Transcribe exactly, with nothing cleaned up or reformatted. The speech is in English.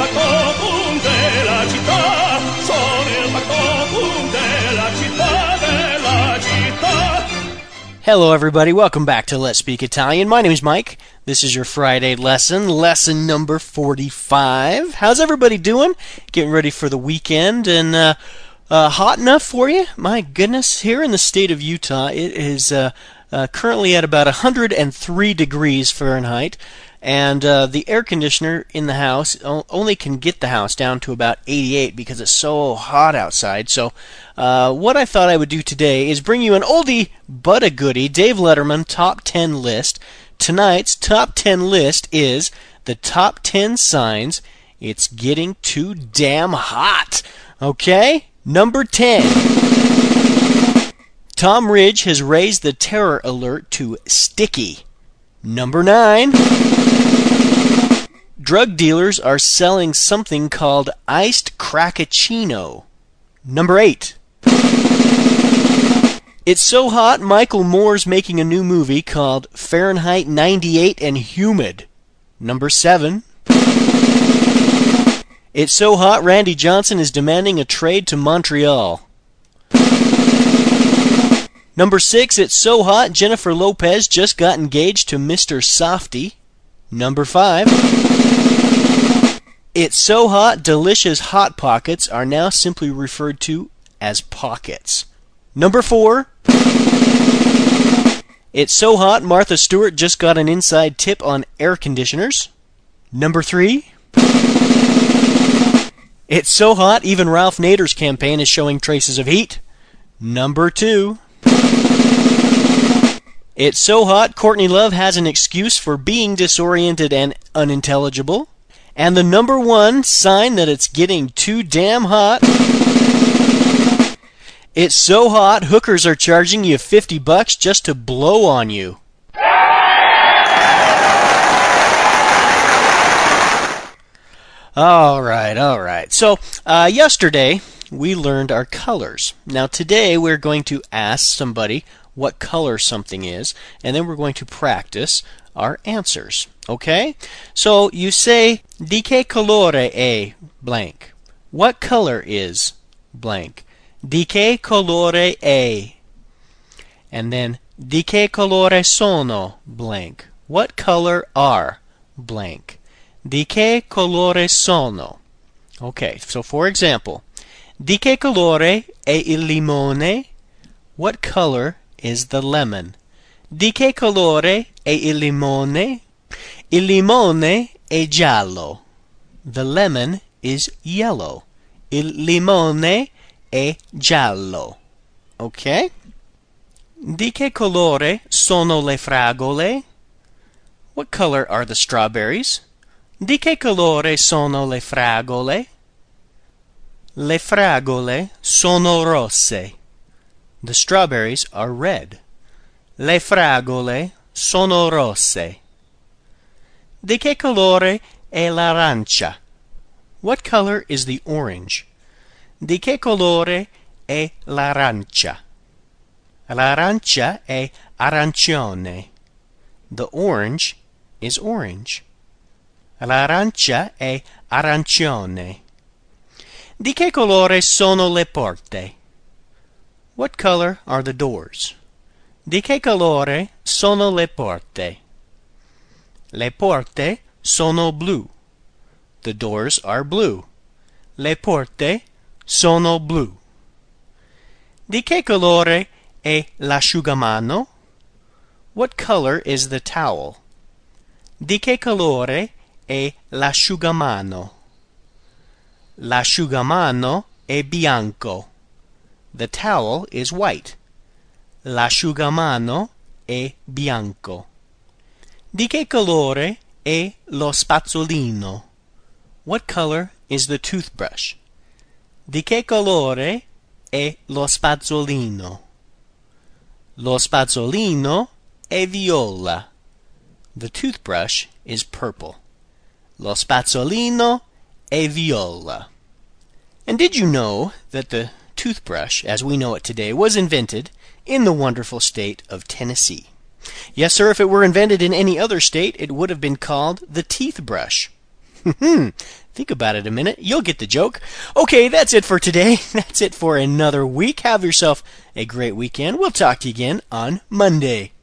factotum della città, sono il factotum della città, della città. Hello everybody, welcome back to Let's Speak Italian. My name is Mike. This is your Friday lesson, lesson number forty-five. How's everybody doing? Getting ready for the weekend and uh, uh, hot enough for you? My goodness, here in the state of Utah, it is uh, uh, currently at about one hundred three degrees Fahrenheit. And uh, the air conditioner in the house only can get the house down to about eighty-eight because it's so hot outside. So uh, what I thought I would do today is bring you an oldie but a goodie, Dave Letterman top ten list. Tonight's top ten list is the top ten signs it's getting too damn hot. Okay? Number ten. Tom Ridge has raised the terror alert to sticky. Number nine. Drug dealers are selling something called iced crackaccino. Number eight. It's so hot, Michael Moore's making a new movie called Fahrenheit ninety-eight and Humid. Number seven. It's so hot, Randy Johnson is demanding a trade to Montreal. Number six. It's so hot, Jennifer Lopez just got engaged to Mister Softy. Number five. It's so hot, delicious Hot Pockets are now simply referred to as Pockets. Number four. It's so hot, Martha Stewart just got an inside tip on air conditioners. Number three. It's so hot, even Ralph Nader's campaign is showing traces of heat. Number two. It's so hot, Courtney Love has an excuse for being disoriented and unintelligible. And the number one sign that it's getting too damn hot. It's so hot, hookers are charging you fifty bucks just to blow on you. All right, all right. So, uh, yesterday we learned our colors. Now today we're going to ask somebody what color something is, and then we're going to practice our answers. Okay? So you say, di che colore è blank? What color is blank? Di che colore è? And then, di che colore sono blank? What color are blank? Di che colore sono? Okay, so for example, di che colore è il limone? What color is the lemon? Di che colore è il limone? Il limone è giallo. The lemon is yellow. Il limone è giallo. Okay? Di che colore sono le fragole? What color are the strawberries? Di che colore sono le fragole? Le fragole sono rosse. The strawberries are red. Le fragole sono rosse. Di che colore è l'arancia? What color is the orange? Di che colore è l'arancia? L'arancia è arancione. The orange is orange. L'arancia è arancione. Di che colore sono le porte? What color are the doors? Di che colore sono le porte? Le porte sono blu. The doors are blue. Le porte sono blu. Di che colore è l'asciugamano? What color is the towel? Di che colore è l'asciugamano? L'asciugamano è bianco. The towel is white. L'asciugamano è bianco. Di che colore è lo spazzolino? What color is the toothbrush? Di che colore è lo spazzolino? Lo spazzolino è viola. The toothbrush is purple. Lo spazzolino è viola. And did you know that the toothbrush, as we know it today, was invented in the wonderful state of Tennessee? Yes, sir, if it were invented in any other state, it would have been called the teeth brush. Think about it a minute. You'll get the joke. Okay, that's it for today. That's it for another week. Have yourself a great weekend. We'll talk to you again on Monday.